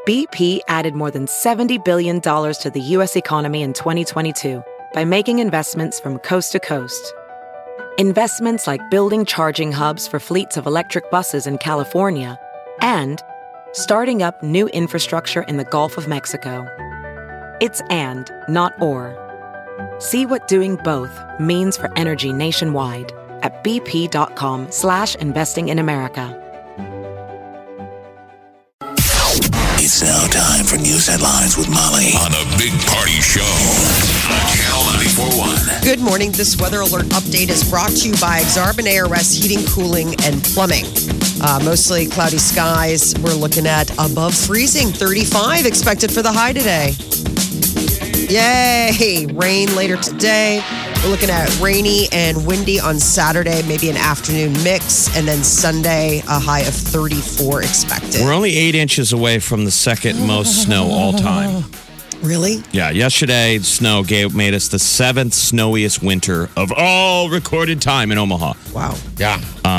BP added more than $70 billion to the U.S. economy in 2022 by making investments from coast to coast. Investments like building charging hubs for fleets of electric buses in California and starting up new infrastructure in the Gulf of Mexico. It's and, not or. See what doing both means for energy nationwide at bp.com/investing in America. It's now time for news headlines with Molly on the Big Party Show on Channel 94.1. Good morning. This weather alert update is brought to you by Exarban ARS Heating, Cooling, and Plumbing. Mostly cloudy skies. We're looking at above freezing, 35 expected for the high today. Yay! Rain later today. We're looking at rainy and windy on Saturday, maybe an afternoon mix, and then Sunday, a high of 34 expected. We're only 8 inches away from the second most snow all time. Really? Yeah, yesterday, snow made us the 7th snowiest winter of all recorded time in Omaha. Wow. Yeah.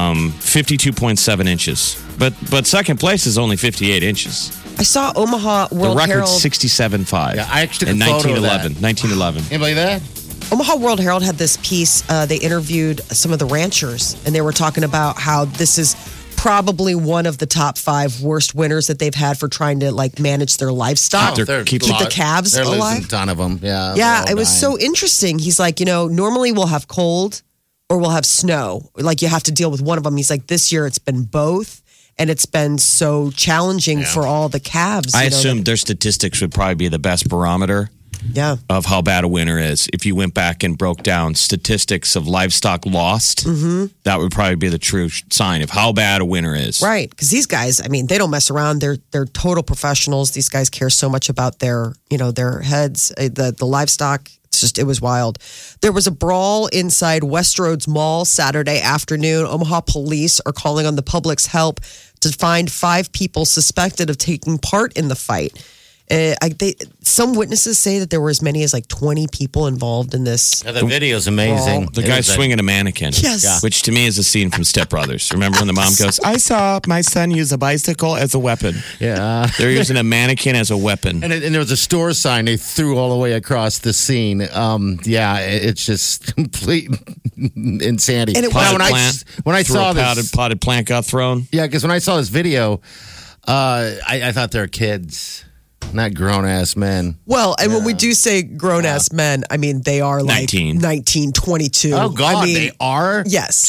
52.7 inches. But second place is only 58 inches. I saw Omaha World The record's Herald. 67.5. Yeah, I actually took in a photo of that. 1911. Anybody that? Omaha World Herald had this piece. They interviewed some of the ranchers, and they were talking about how this is probably one of the top 5 worst winters that they've had for trying to manage their livestock. Keep the calves They're alive. losing a ton of them. Yeah. Yeah, it was so interesting. He's like, normally we'll have cold or we'll have snow. Like you have to deal with one of them. He's like, this year it's been both. And it's been so challenging for all the calves. I assume their statistics would probably be the best barometer of how bad a winter is. If you went back and broke down statistics of livestock lost, that would probably be the true sign of how bad a winter is. Right. Because these guys, they don't mess around. They're total professionals. These guys care so much about their heads, the livestock. It was wild. There was a brawl inside Westroads Mall Saturday afternoon. Omaha police are calling on the public's help to find 5 people suspected of taking part in the fight. Some witnesses say that there were as many as 20 people involved in this. Yeah, the video's amazing. The guy's swinging a mannequin. Yes. Which to me is a scene from Step Brothers. Remember when the mom goes, I saw my son use a bicycle as a weapon. Yeah. They're using a mannequin as a weapon. And there was a store sign they threw all the way across the scene. It's just complete insanity. And it when I saw this, potted plant got thrown. Yeah, because when I saw this video, I thought they were kids. Not grown-ass men. Well, and when we do say grown-ass men, they are 19, 22. Oh, God, they are? Yes.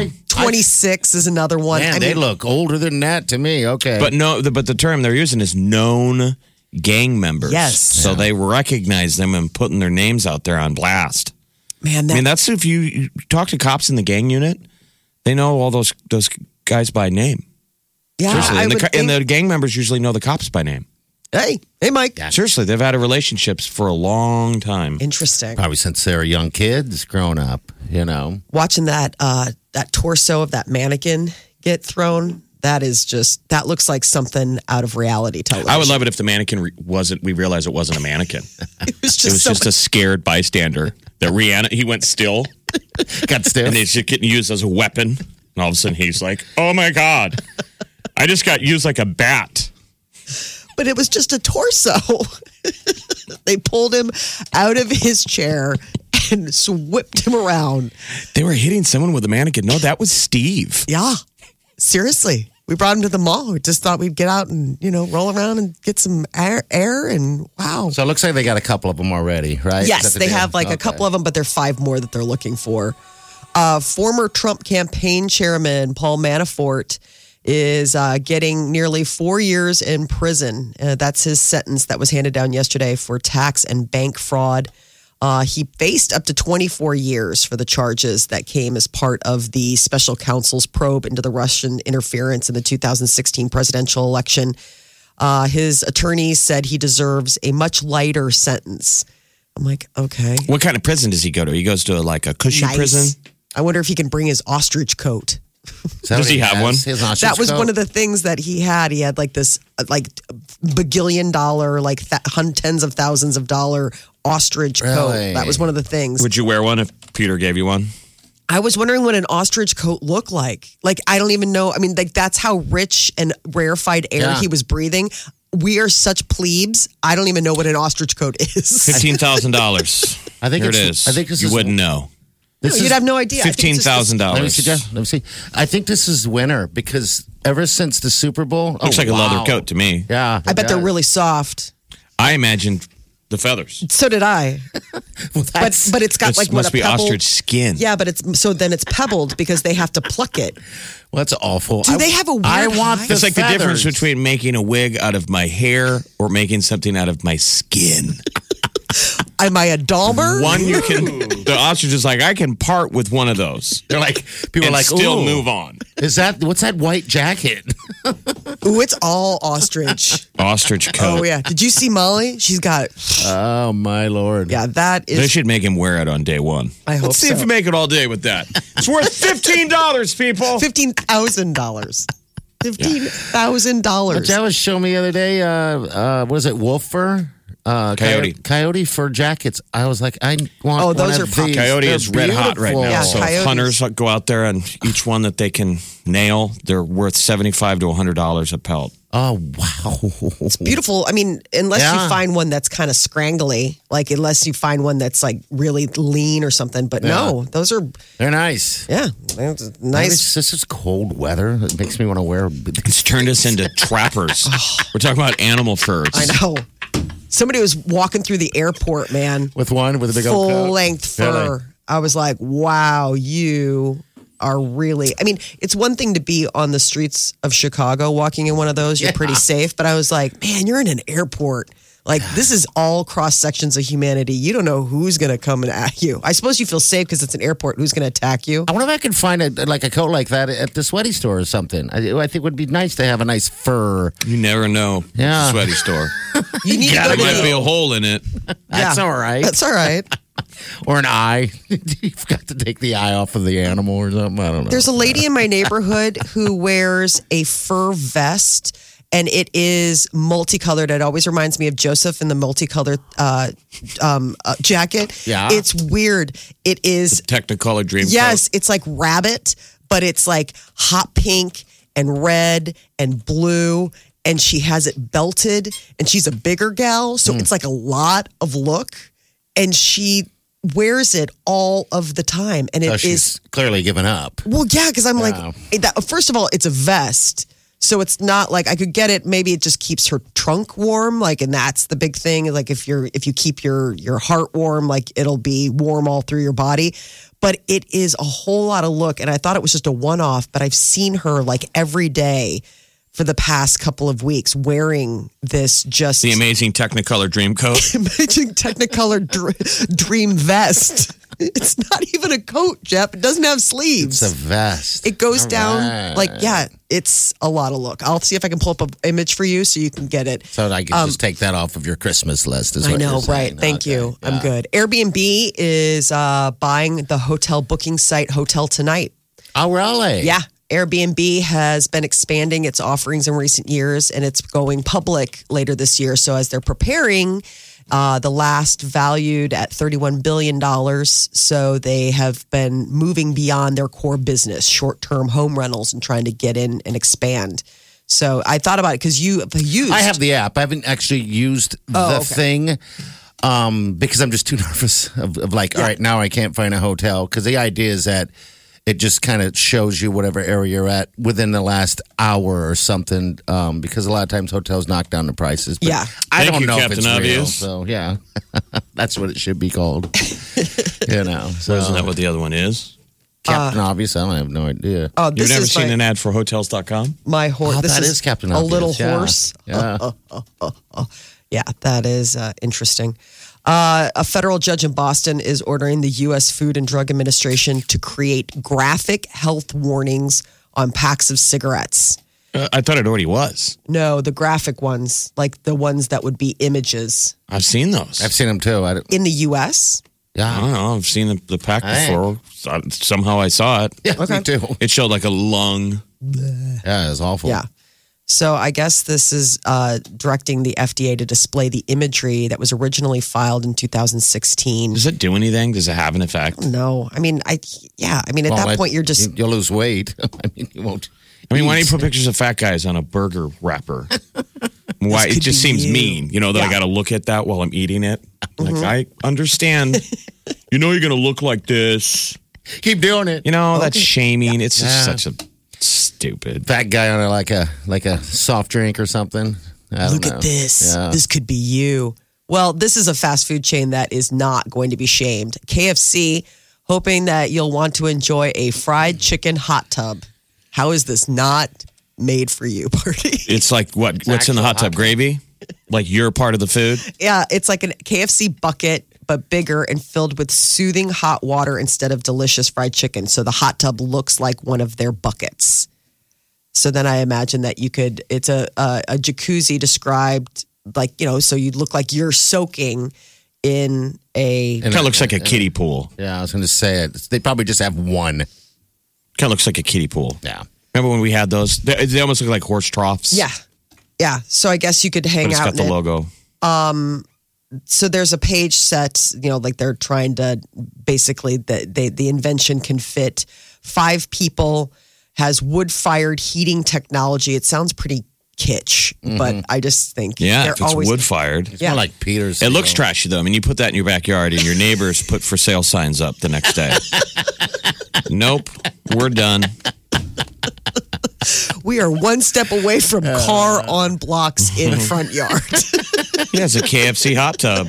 26 is another one. Man, they look older than that to me. Okay. But the term they're using is known gang members. Yes. So they recognize them and putting their names out there on blast. Man, that's if you talk to cops in the gang unit, they know all those guys by name. Yeah, Seriously. And the gang members usually know the cops by name. Hey, Mike. Yeah. Seriously, they've had relationships for a long time. Interesting. Probably since they were young kids, grown up, Watching that torso of that mannequin get thrown, that looks like something out of reality television. I would love it if the mannequin we realized it wasn't a mannequin. It was just a scared bystander that he went still. Got still. And he's just getting used as a weapon. And all of a sudden he's like, oh my God, I just got used like a bat. But it was just a torso. They pulled him out of his chair and whipped him around. They were hitting someone with a mannequin. No, that was Steve. Yeah. Seriously. We brought him to the mall. We just thought we'd get out and, roll around and get some air and wow. So it looks like they got a couple of them already, right? Yes, they have a couple of them, but there are 5 more that they're looking for. Former Trump campaign chairman Paul Manafort is getting nearly 4 years in prison. That's his sentence that was handed down yesterday for tax and bank fraud. He faced up to 24 years for the charges that came as part of the special counsel's probe into the Russian interference in the 2016 presidential election. His attorneys said he deserves a much lighter sentence. I'm like, okay. What kind of prison does he go to? He goes to a cushy prison? I wonder if he can bring his ostrich coat. Does he have one? That was one of the things that he had. He had this bagillion dollar, tens of thousands of dollar ostrich coat. That was one of the things. Would you wear one if Peter gave you one? I was wondering what an ostrich coat looked like. I don't even know. That's how rich and rarefied air he was breathing. we are such plebes. I don't even know what an ostrich coat is. $15,000. I think Here it is. I think this you is, wouldn't know. You'd have no idea. $15,000. Let me see, Jeff. Let me see. I think this is winter because ever since the Super Bowl, Looks like a leather coat to me. Yeah, I bet they're really soft. I imagined the feathers. So did I. But it's got like must what be a pebble. ostrich skin. Yeah, but then it's pebbled because they have to pluck it. Well, that's awful. Do they have a weird I want hide? the It's like feathers. the difference between making a wig out of my hair or making something out of my skin. Am I a Dahmer? One you can. The ostrich is like, I can part with one of those. They're like people are And like still "Ooh, move on. Is that what's that white jacket? Ooh, it's all ostrich. Ostrich coat. Oh yeah. Did you see Molly? She's got. Oh my lord! Yeah, that They is. should make him wear it on day one. I hope Let's see so. if we make it all day with that. It's worth $15, people. $15,000. $15,000. That was showing me the other day. Was it wolf fur? Coyote fur jackets. I was like, I want. Oh, those one are of pop- these. Coyote They're is red hot right beautiful. now. Yeah, so coyotes. if hunters go out there and each one that they can nail, they're worth $75 to $100 a pelt. Oh wow! Beautiful. I mean, unless Yeah. you find one that's kind of scrangly, like unless you find one that's like really lean or something. But no, those are, They're nice. yeah, nice. This is cold weather. It makes me want to wear. It's turned us into trappers. We're talking about animal furs. I know. Somebody was walking through the airport, man. With a big old coat. Full length fur. I was like, wow, you are really. I mean, it's one thing to be on the streets of Chicago walking in one of those. You're pretty safe. But I was like, man, you're in an airport. Like, this is all cross sections of humanity. You don't know who's going to come at you. I suppose you feel safe because it's an airport. Who's going to attack you? I wonder if I could find a coat like that at the sweaty store or something. I think it would be nice to have a nice fur. You never know. Yeah. Sweaty store. You need to There go to might the- be a hole in it. That's Yeah. all right. That's all right. Or an eye. You've got to take the eye off of the animal or something. I don't know. There's a lady in my neighborhood who wears a fur vest, and it is multicolored. It always reminds me of Joseph in the multicolored jacket. Yeah. It's weird. It is, Technicolor dream yes, it's like rabbit, but it's like hot pink and red and blue. And she has it belted, and she's a bigger gal. So it's like a lot of look. And she wears it all of the time. And it So is. she's clearly given up. Well, yeah, because I'm Yeah. like, first of all, it's a vest. So it's not like I could get it. Maybe it just keeps her trunk warm. Like, and that's the big thing. Like if you keep your heart warm, like it'll be warm all through your body. But it is a whole lot of look. And I thought it was just a one-off, but I've seen her like every day for the past couple of weeks wearing this just The amazing Technicolor dream coat. amazing Technicolor dream vest. It's not even a coat, Jeff. It doesn't have sleeves. It's a vest. It goes All down right. like, yeah, it's a lot of look. I'll see if I can pull up an image for you so you can get it. So I can just take that off of your Christmas list. Is I what know, you're right? saying. Thank Okay. you. I'm Yeah. good. Airbnb is buying the hotel booking site Hotel Tonight. Oh, really? Yeah. Airbnb has been expanding its offerings in recent years, and it's going public later this year. So as they're preparing, the last valued at $31 billion. So they have been moving beyond their core business, short-term home rentals, and trying to get in and expand. So I thought about it because you have used. I have the app. I haven't actually used the thing because I'm just too nervous of like, all right, now I can't find a hotel. Because the idea is that it just kind of shows you whatever area you're at within the last hour or something. Because a lot of times hotels knock down the prices. But Yeah. I Thank don't you, know Captain if it's real. Obvious. So yeah, that's what it should be called. So Isn't that what the other one is? Captain Obvious? I have no idea. Oh, You've this never is seen my, an ad for Hotels.com? my horse. Oh, this that is is Captain a Obvious. little Yeah. horse. Yeah. Yeah, that is interesting. A federal judge in Boston is ordering the U.S. Food and Drug Administration to create graphic health warnings on packs of cigarettes. I thought it already was. No, the graphic ones, like the ones that would be images I've seen those. I've seen them too. in the U.S. I Yeah. don't know. I've seen the pack Hey. before. Somehow I saw it. Yeah, me too. It showed like a lung. Yeah, it's awful. Yeah. So I guess this is directing the FDA to display the imagery that was originally filed in 2016. Does it do anything? Does it have an effect? No, I mean, at Well, that point, you're just you'll lose weight. I mean, you won't. I mean, why don't you put pictures of fat guys on a burger wrapper? Why? It just seems you. mean, that I got to look at that while I'm eating it. Like, I understand. You're going to look like this. Keep doing it. That's shaming. It's just such a stupid. Fat guy on like a soft drink or something. Look at this. Yeah. This could be you. Well, this is a fast food chain that is not going to be shamed. KFC, hoping that you'll want to enjoy a fried chicken hot tub. How is this not made for you, Party? It's like what's in the hot tub? Gravy? Like you're part of the food? Yeah, it's like a KFC bucket, but bigger and filled with soothing hot water instead of delicious fried chicken. So the hot tub looks like one of their buckets. So then I imagine that it's a jacuzzi described like, so you'd look like you're soaking in a... Kind of looks like a kiddie pool. Yeah, I was going to say it. They probably just have one. Kind of looks like a kiddie pool. Yeah. Remember when we had those? They almost look like horse troughs. Yeah. Yeah. So I guess you could hang but out. It's got the logo. So there's a page set, like they're trying to basically, the invention can fit 5 people, has wood-fired heating technology. It sounds pretty kitsch, but I just think if it's wood-fired. It's more like Peter's. It looks trashy, though. I mean, you put that in your backyard and your neighbors put for sale signs up the next day. Nope, we're done. We are one step away from car on blocks in front yard. Yeah, it's a KFC hot tub.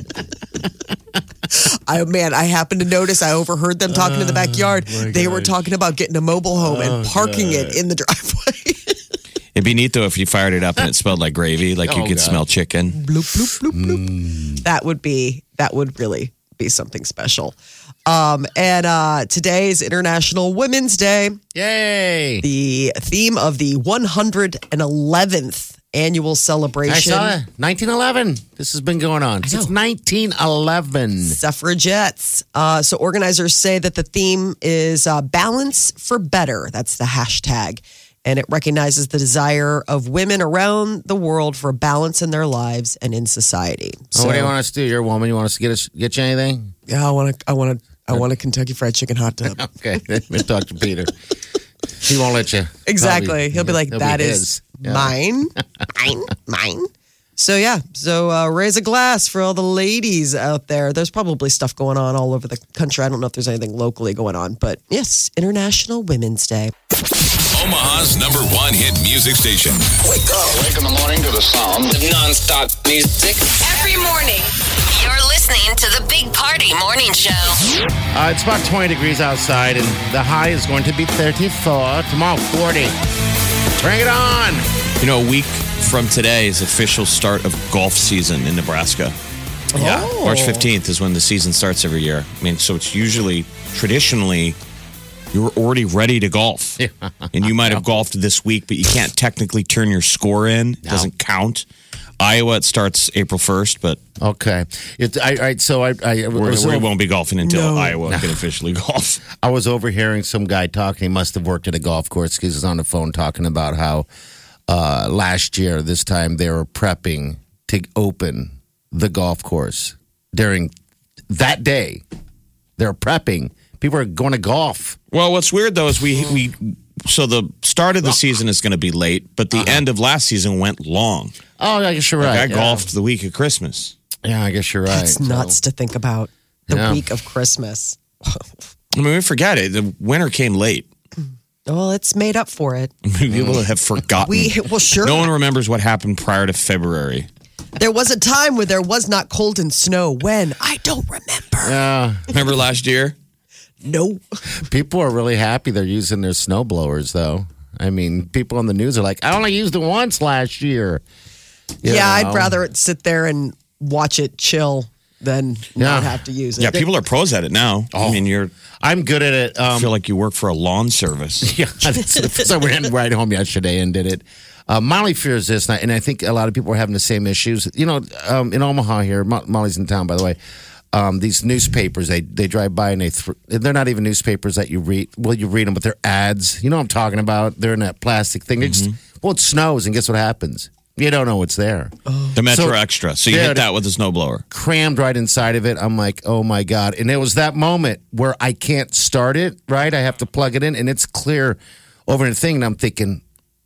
I happened to notice, I overheard them talking in the backyard. They were talking about getting a mobile home and parking it in the driveway. It'd be neat, though, if you fired it up and it smelled like gravy, like you could smell chicken. Bloop, bloop, bloop, bloop. That would really be something special. And today is International Women's Day. Yay! The theme of the 111th annual celebration. I saw it. 1911. This has been going on since 1911. Suffragettes. So organizers say that the theme is balance for better. That's the hashtag. And it recognizes the desire of women around the world for balance in their lives and in society. So, what do you want us to do? You're a woman. You want us to get you anything? Yeah, I want a Kentucky Fried Chicken hot tub. Okay, let's talk to Peter. He won't let you. Exactly. Probably, He'll be like, that is mine. Mine. So, raise a glass for all the ladies out there. There's probably stuff going on all over the country. I don't know if there's anything locally going on, but yes, International Women's Day. Omaha's #1 hit music station. Wake up. Wake in the morning to the sound of nonstop music. Every morning, you're listening to the Big Party Morning Show. It's about 20 degrees outside, and the high is going to be 34. Tomorrow, 40. Bring it on. A week from today is official start of golf season in Nebraska. Yeah. March 15th is when the season starts every year. I mean, so it's usually, traditionally, you're already ready to golf. Yeah. And you might have golfed this week, but you can't technically turn your score in. It doesn't count. Iowa, it starts April 1st, but... Okay. We won't be golfing until Iowa can officially golf. I was overhearing some guy talking. He must have worked at a golf course because he was on the phone talking about how last year, this time, they were prepping to open the golf course. During that day, they're prepping. People are going to golf. Well, what's weird, though, is so the start of the season is going to be late, but the end of last season went long. Oh, I guess you're right. I golfed the week of Christmas. Yeah, I guess you're right. It's nuts to think about the week of Christmas. I mean, we forget it. The winter came late. Well, it's made up for it. People have forgotten. Sure. No one remembers what happened prior to February. There was a time where there was not cold and snow. When? I don't remember. Yeah. Remember last year? No. People are really happy they're using their snow blowers, though. I mean, people on the news are like, I only used it once last year. I'd rather sit there and watch it chill than not have to use it. Yeah, people are pros at it now. I mean, I'm good at it. I feel like you work for a lawn service. Yeah, so we ran right home yesterday and did it. Molly fears this, and I think a lot of people are having the same issues. In Omaha here, Molly's in town, by the way. These newspapers, they drive by and they're not even newspapers that you read. Well, you read them, but they're ads. You know what I'm talking about? They're in that plastic thing. It snows, and guess what happens? You don't know what's there. The Metro Extra. So you hit that with a snowblower. Crammed right inside of it. I'm like, oh my God. And it was that moment where I can't start it, right? I have to plug it in, and it's clear over the thing. And I'm thinking,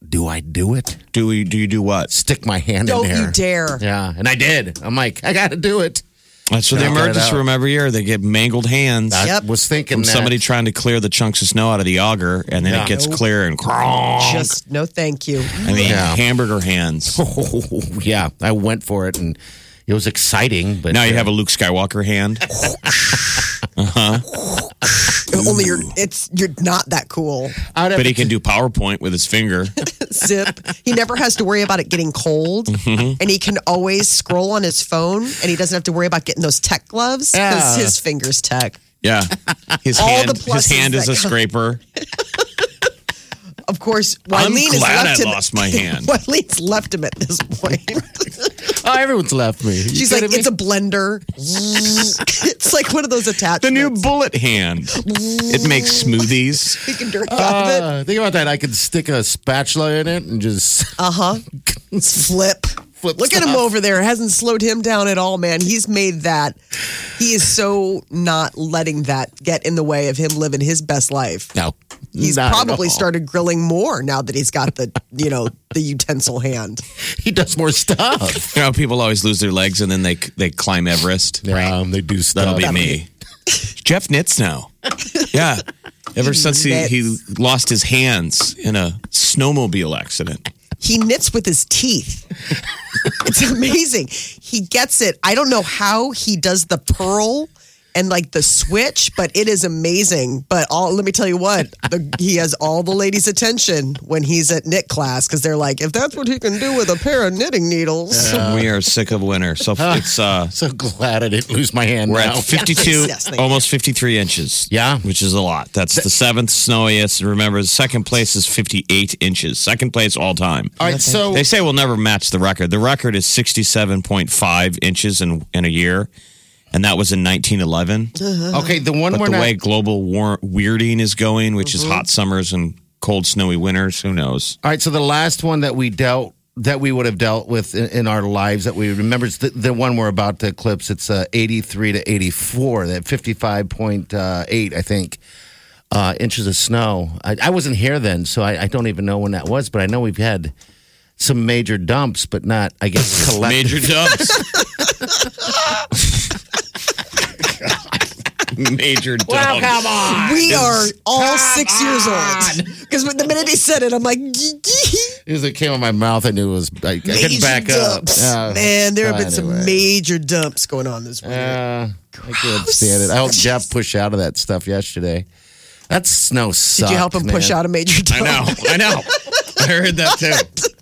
do I do it? Do you do what? Stick my hand Don't in there. you dare. Yeah, and I did. I'm like, I got to do it. That's for the Knock it emergency out. room every year. They get mangled hands I Yep. was thinking from that. somebody trying to clear the chunks of snow out of the auger, and then Yeah. it gets clear and Just no thank you. I mean, Yeah. hamburger hands. Oh, yeah, I went for it, and it was exciting. But Now you have a Luke Skywalker hand. Only you're not that cool. But he can do PowerPoint with his finger. Zip. He never has to worry about it getting cold, and he can always scroll on his phone, and he doesn't have to worry about getting those tech gloves because Yeah. his fingers tech. Yeah. His All hand, the pluses his hand is that a come- scraper. Of course, I'm Wileen has glad left I him. lost my hand. Wileen's left him at this point. Oh, everyone's left me. She's like, it's a blender. It's like one of those attachments. The new bullet hand. It makes smoothies. He can drink out of it. Think about that. I could stick a spatula in it and just Flip. Flip Look at him stuff. over there. It hasn't slowed him down at all, man. He's made that. He is so not letting that get in the way of him living his best life. no. He's not at probably all. started grilling more now that he's got the, the utensil hand. He does more stuff. You know, people always lose their legs and then they climb Everest. Yeah, they do stuff. That'll be me. Jeff knits now. Yeah. Ever since he lost his hands in a snowmobile accident. He knits with his teeth. It's amazing. He gets it. I don't know how he does the purl and like the switch, but it is amazing. But let me tell you what, he has all the ladies' attention when he's at knit class because they're like, if that's what he can do with a pair of knitting needles. We are sick of winter. So it's So glad I didn't lose my hand we're now. at 52, Yes, thank you. almost 53 inches. Yeah. Which is a lot. That's the seventh snowiest. Remember, the second place is 58 inches. Second place all time. All right, so They say we'll never match the record. The record is 67.5 inches in a year, and that was in 1911. okay, the one But we're the not. way global weirding is going, which is hot summers and cold, snowy winters, who knows? All right, so the last one that we would have dealt with in our lives that we remember is the one we're about to eclipse. It's 83 to 84, that 55.8, I think, inches of snow. I wasn't here then, so I don't even know when that was, but I know we've had some major dumps, but not, I guess, collective. Major dumps. Major dumps. Well, come on. We are all 6 years old. Because the minute he said it, I'm like, As it came out of my mouth, I knew it was, I couldn't back up. dumps. Yeah. Man, there have been Anyway. some major dumps going on this week. I can't stand it. I helped Jeff push out of that stuff yesterday. That snow sucked. Did you help him push out a major dump? I know. I heard that too.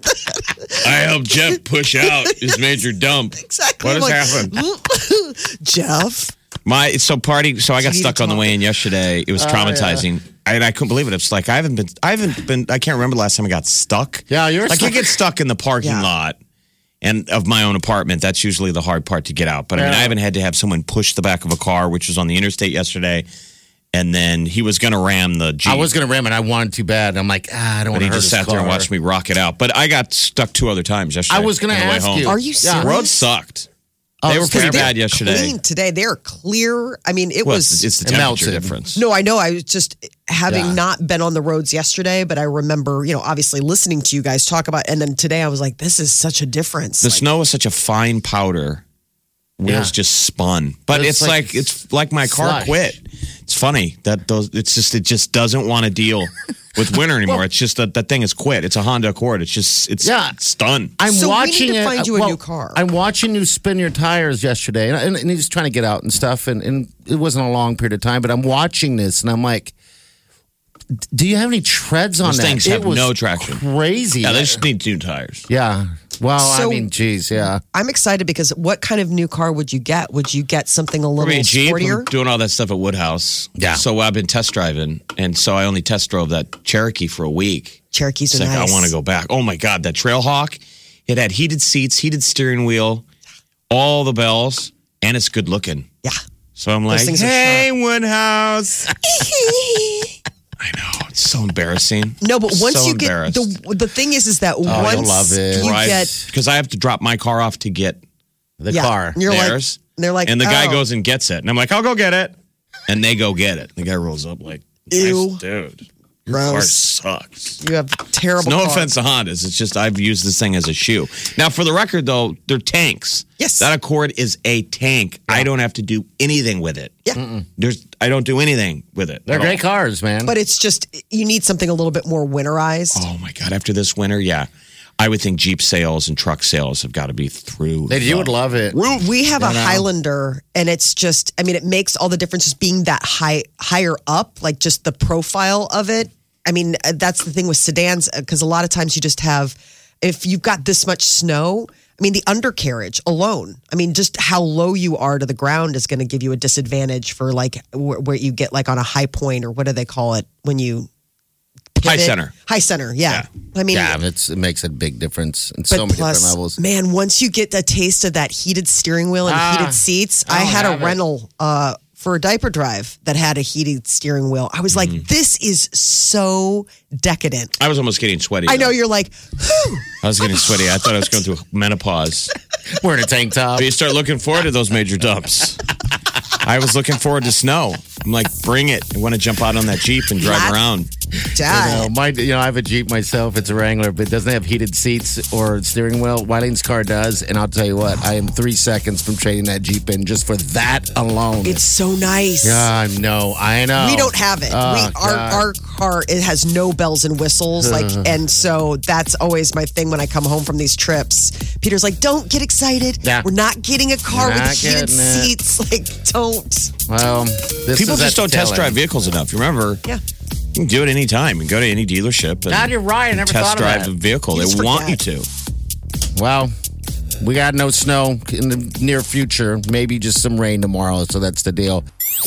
I helped Jeff push out his major dump. Exactly. What I'm has like, happened? Jeff. So I got You need to stuck on the talk. way in yesterday. It was traumatizing. I couldn't believe it. It's like I can't remember the last time I got stuck. Yeah, you're like stuck. I get stuck in the parking Yeah. lot and of my own apartment. That's usually the hard part to get out. But I mean, Yeah. I haven't had to have someone push the back of a car, which was on the interstate yesterday. And then he was going to ram the Jeep. I was going to ram it. I wanted too bad. I'm like, I don't But want to he hurt just his sat there and car. watched me rock it out. But I got stuck 2 other times yesterday. I was going to on the way ask home. you. Are you serious? The road sucked. They were pretty They're bad yesterday. Clean today. They're clear. I mean, it Well, was. it's the It temperature melted. difference. No, I know. I was just having Yeah. not been on the roads yesterday, but I remember, obviously listening to you guys talk about. And then today I was like, this is such a difference. The Like, snow is such a fine powder. Wheels Yeah. just spun. But It's it's like my car slush. quit. It's funny that it just doesn't want to deal with winter anymore. It's just that thing is quit. It's a Honda Accord. It's done. I'm So we watching need to it. find you a new car. I'm watching you spin your tires yesterday, and he's trying to get out and stuff, and it wasn't a long period of time, but I'm watching this, and I'm like, do you have any treads on Those that? things It have was no traction. Crazy. Yeah, they just need new tires. Yeah. Well, So- I mean, geez, yeah. I'm excited because what kind of new car would you get? Would you get something a little Jeep, sportier? I'm doing all that stuff at Woodhouse. Yeah. So I've been test driving, and so I only test drove that Cherokee for a week. Cherokees It's are like, nice. I want to go back. Oh my God, that Trailhawk. It had heated seats, heated steering wheel, all the bells, and it's good looking. Yeah. So I'm like, things are hey, Woodhouse. I know. It's so embarrassing. No, but once So you get embarrassed. the thing is that you'll once love it. you Drive- get because I have to drop my car off to get The yeah, car. you're theirs. like they're like, and the guy oh, goes and gets it. And I'm like, I'll go get it. And they go get it. The guy rolls up like, Ew. nice dude. Your car Gross. sucks. You have terrible. No car. offense to Hondas. It's just I've used this thing as a shoe. Now, for the record, though, they're tanks. Yes. That Accord is a tank. I don't have to do anything with it. Yeah. I don't do anything with it. They're at great all. cars, man. But it's just you need something a little bit more winterized. Oh my God! After this winter, yeah, I would think Jeep sales and truck sales have got to be through. You would love it. We have a Highlander, and it's just, I mean, it makes all the difference just being that higher up, like just the profile of it. I mean, that's the thing with sedans, because a lot of times you just have, if you've got this much snow, I mean, the undercarriage alone, I mean, just how low you are to the ground is going to give you a disadvantage for like where you get like on a high point, or what do they call it when you High pivot? center. High center, yeah. I mean, Yeah, it makes a big difference in so many different levels. Man, once you get a taste of that heated steering wheel and heated seats, I had a rental for a diaper drive that had a heated steering wheel. I was like, this is so decadent. I was almost getting sweaty. I know though. you're like, I was getting sweaty. I thought I was going through menopause. Wearing a tank top. But you start looking forward to those major dumps. I was looking forward to snow. I'm like, bring it. I want to jump out on that Jeep and drive around. Dad. I have a Jeep myself. It's a Wrangler, but it doesn't have heated seats or steering wheel. Wileen's car does, and I'll tell you what, I am 3 seconds from trading that Jeep in just for that alone. It's so nice. Yeah, I know. We don't have it. Our car, it has no bells and whistles, and so that's always my thing when I come home from these trips. Peter's like, "Don't get excited. Yeah. We're not getting a car with Not heated getting it. seats. Like, don't." Well, People just don't test drive vehicles enough. You remember? Yeah. You can do it anytime. You can go to any dealership and God, you're right. I never test thought of drive that. a vehicle. You They just want you forget. to. Well, we got no snow in the near future. Maybe just some rain tomorrow. So that's the deal.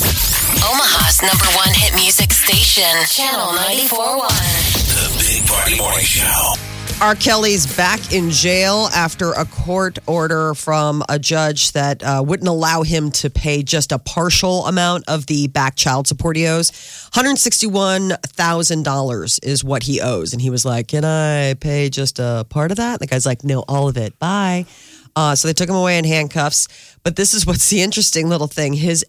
Omaha's #1 hit music station, Channel 94.1. The Big Party Morning Show. R. Kelly's back in jail after a court order from a judge that wouldn't allow him to pay just a partial amount of the back child support he owes. $161,000 is what he owes. And he was like, "Can I pay just a part of that?" The guy's like, "No, all of it. Bye." So they took him away in handcuffs. But this is what's the interesting little thing. His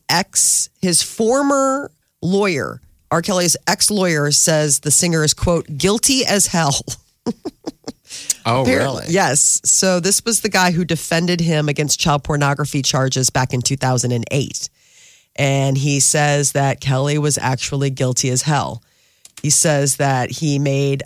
former lawyer, R. Kelly's ex-lawyer, says the singer is, quote, guilty as hell. Oh, really? Yes. So this was the guy who defended him against child pornography charges back in 2008. And he says that Kelly was actually guilty as hell. He says that he made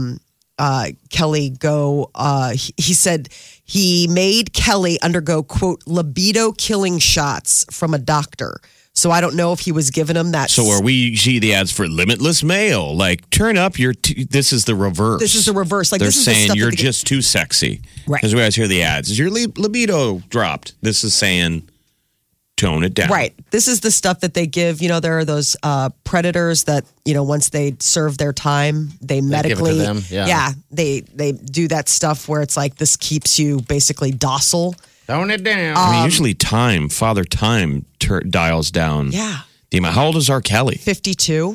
Kelly go, he said he made Kelly undergo, quote, libido killing shots from a doctor. So I don't know if he was giving him that. So are we see the ads for Limitless Male? Like, turn up your. This is the reverse. This is the reverse. Like, they're this is the saying stuff you're that they- just too sexy. Right. Because we always hear the ads. Is your libido dropped? This is saying tone it down. Right. This is the stuff that they give. You know, there are those predators that, you know, once they serve their time, they medically. give it to them, yeah. They do that stuff where it's like this keeps you basically docile. Tone it down. I mean, usually Father Time dials down. Yeah. The amount. How old is R. Kelly? 52.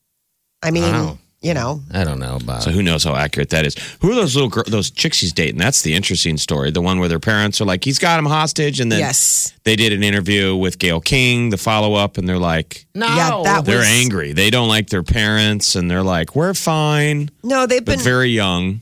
I mean, Wow. you know. I don't know about So who knows how accurate that is? Who are those those chicks he's dating? That's the interesting story. The one where their parents are like, he's got him hostage, and then Yes. they did an interview with Gayle King, the follow up, and they're like, No. Yeah, that they're was- angry. They don't like their parents, and they're like, we're fine, No, they've but been. very young.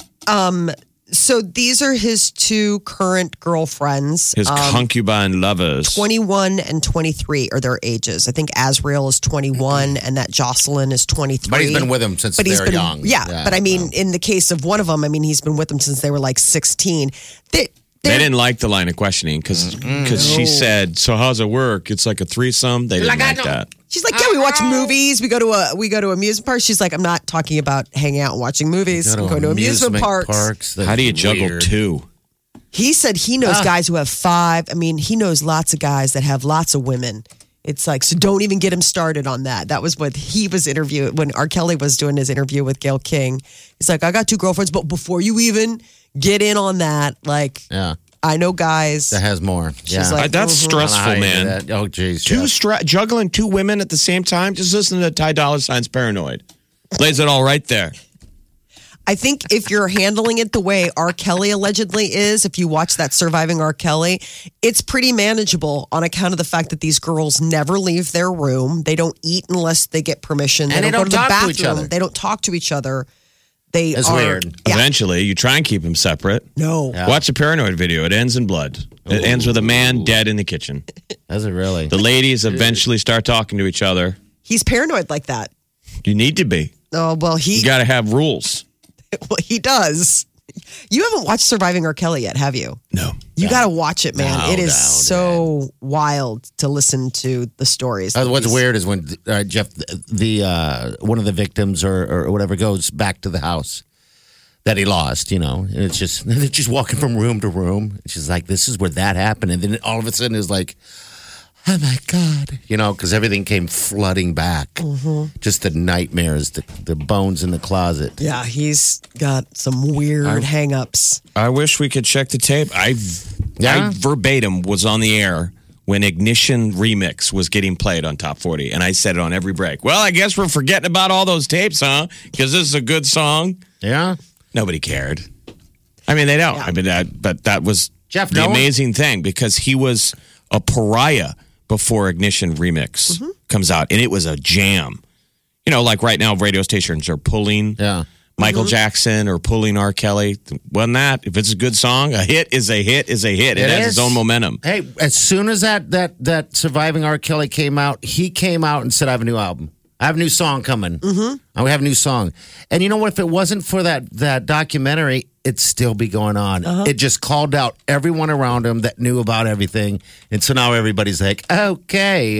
So these are his two current girlfriends. His concubine lovers. 21 and 23 are their ages. I think Azrael is 21 and that Jocelyn is 23. But he's been with them since they were young. Yeah, but I mean, in the case of one of them, I mean, he's been with them since they were like 16. They didn't like the line of questioning because she said, "So how's it work? It's like a threesome." They didn't like that. She's like, yeah, we watch movies. We go to amusement parks. She's like, I'm not talking about hanging out and watching movies. I'm going to amusement parks. How do you juggle two? He said he knows guys who have 5. I mean, he knows lots of guys that have lots of women. It's like, so don't even get him started on that. That was what he was interviewing when R. Kelly was doing his interview with Gayle King. He's like, I got 2 girlfriends, but before you even get in on that, like, Yeah. I know guys. That has more. Yeah. like, That's stressful, man. That. Oh, geez. Juggling 2 women at the same time. Just listen to Ty Dolla $ign's Paranoid. Lays it all right there. I think if you're handling it the way R. Kelly allegedly is, if you watch that Surviving R. Kelly, it's pretty manageable on account of the fact that these girls never leave their room. They don't eat unless they get permission. And they go don't to the talk to bathroom. each other. They don't talk to each other. It's weird. Yeah. Eventually, you try and keep them separate. No. Yeah. Watch a Paranoid video. It ends in blood. It ends with a man dead in the kitchen. Does it really? The ladies eventually start talking to each other. He's paranoid like that. You need to be. Oh, well, You got to have rules. well, he does. You haven't watched Surviving R. Kelly yet, have you? No. You got to watch it, man. No, it is no, so wild to listen to the stories. What's weird is when Jeff, the one of the victims or whatever goes back to the house that he lost, and it's just they're just walking from room to room. It's just like, this is where that happened, and then all of a sudden it's like, oh my God, because everything came flooding back. Mm-hmm. Just the nightmares, the bones in the closet. Yeah, he's got some weird hang-ups. I wish we could check the tape. I verbatim was on the air when Ignition Remix was getting played on Top 40, and I said it on every break. Well, I guess we're forgetting about all those tapes, huh? Because this is a good song. Yeah. Nobody cared. I mean, they don't. Yeah. I mean, but that was Jeff, the no one- amazing thing because he was a pariah before Ignition Remix comes out, and it was a jam. Like right now, radio stations are pulling Michael Jackson or pulling R. Kelly. Wasn't that? If it's a good song, a hit is a hit is a hit. It has its own momentum. Hey, as soon as that Surviving R. Kelly came out, he came out and said, I have a new album. I have a new song coming. I have a new song. And you know what? If it wasn't for that documentary, it'd still be going on. It just called out everyone around him that knew about everything. And so now everybody's like, okay,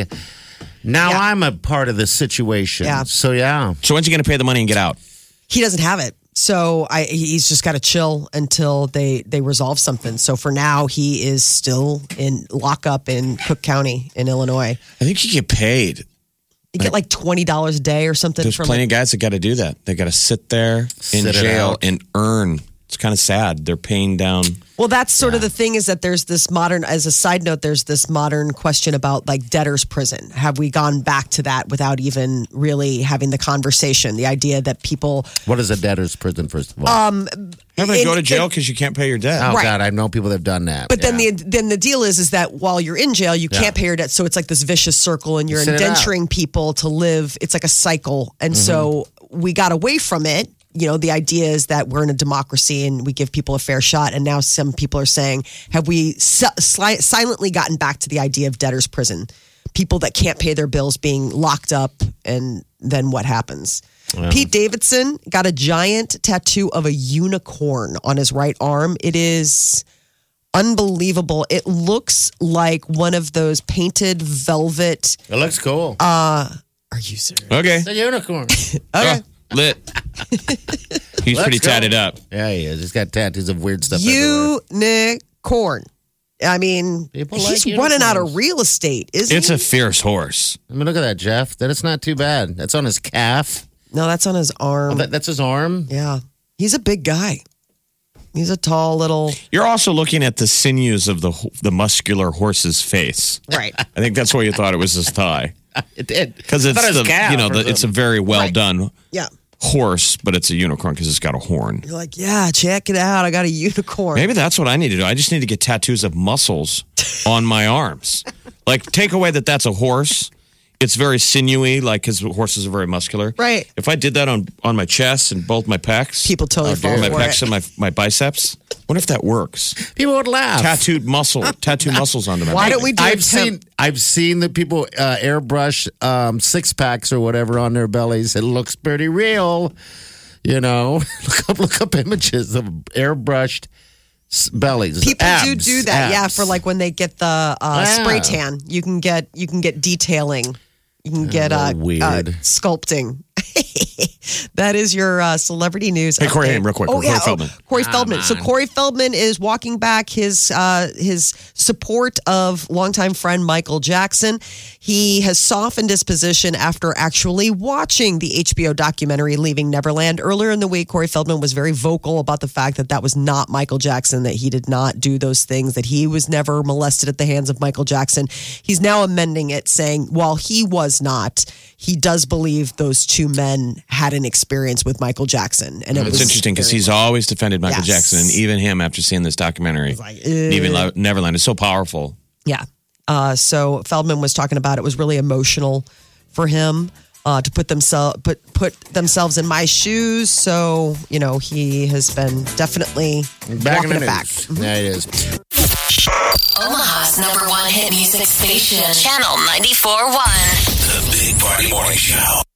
now I'm a part of this situation. Yeah. So, yeah. So when's he going to pay the money and get out? He doesn't have it. So he's just got to chill until they resolve something. So for now, he is still in lockup in Cook County in Illinois. I think you get paid. You get like $20 a day or something. There's plenty of guys that got to do that. They got to sit there in Sit it jail out. and earn. It's kind of sad. They're paying down. Well, that's sort of the thing is that there's this modern, as a side note, there's this modern question about like debtor's prison. Have we gone back to that without even really having the conversation? The idea that people. What is a debtor's prison, first of all? Having to go to jail because you can't pay your debt. oh, right. God, I know people that have done that. But then the deal is that while you're in jail, you can't pay your debt. So it's like this vicious circle, and you're Sit it out. indenturing people to live. It's like a cycle, and so we got away from it. The idea is that we're in a democracy and we give people a fair shot. And now some people are saying, have we silently gotten back to the idea of debtor's prison? People that can't pay their bills being locked up, and then what happens? Pete Davidson got a giant tattoo of a unicorn on his right arm. It is unbelievable. It looks like one of those painted velvet. It looks cool. Are you serious? Okay. it's a unicorn. Okay. Lit. He's pretty go. tatted up. Yeah, he is. He's got tattoos of weird stuff everywhere. Unicorn. I mean, People he's like running out of unicorns. real estate, isn't It's he? a fierce horse. I mean, look at that, Jeff. That is not too bad. That's on his calf. No, that's on his arm. That's his arm. Yeah. He's a big guy. He's a tall little. You're also looking at the sinews of the muscular horse's face. Right. I think that's why you thought it was his thigh. It did. Because it's I thought it was calf or it's a very well done Yeah. horse, but it's a unicorn because it's got a horn. You're like, yeah, check it out. I got a unicorn. Maybe that's what I need to do. I just need to get tattoos of muscles on my arms. Like, take away that that's a horse. It's very sinewy, like because horses are very muscular. Right. If I did that on my chest and both my pecs, People totally fall my for pecs it. and my biceps. What if that works? People would laugh. Tattoo muscles onto my Why body. don't we do I've seen the people airbrush 6-packs or whatever on their bellies. It looks pretty real. Look up images of airbrushed bellies. People abs, do that, abs. for like when they get the spray tan. You can get detailing. You can get weird. sculpting. That is your celebrity news. Hey, Corey update. Haim, real quick. Oh, Corey Feldman. Corey Feldman. So Corey Feldman is walking back his support of longtime friend Michael Jackson. He has softened his position after actually watching the HBO documentary Leaving Neverland. Earlier in the week, Corey Feldman was very vocal about the fact that was not Michael Jackson, that he did not do those things, that he was never molested at the hands of Michael Jackson. He's now amending it, saying while he was not, he does believe those two two men had an experience with Michael Jackson. And it's interesting because he's always defended Michael Yes. Jackson, and even him after seeing this documentary. Even Neverland is so powerful. Yeah. So Feldman was talking about it was really emotional for him to put themselves in my shoes. So, he has been definitely walking it back. Yeah, it is. Omaha's #1 hit music station, Channel 94.1. The Big Party Morning Show.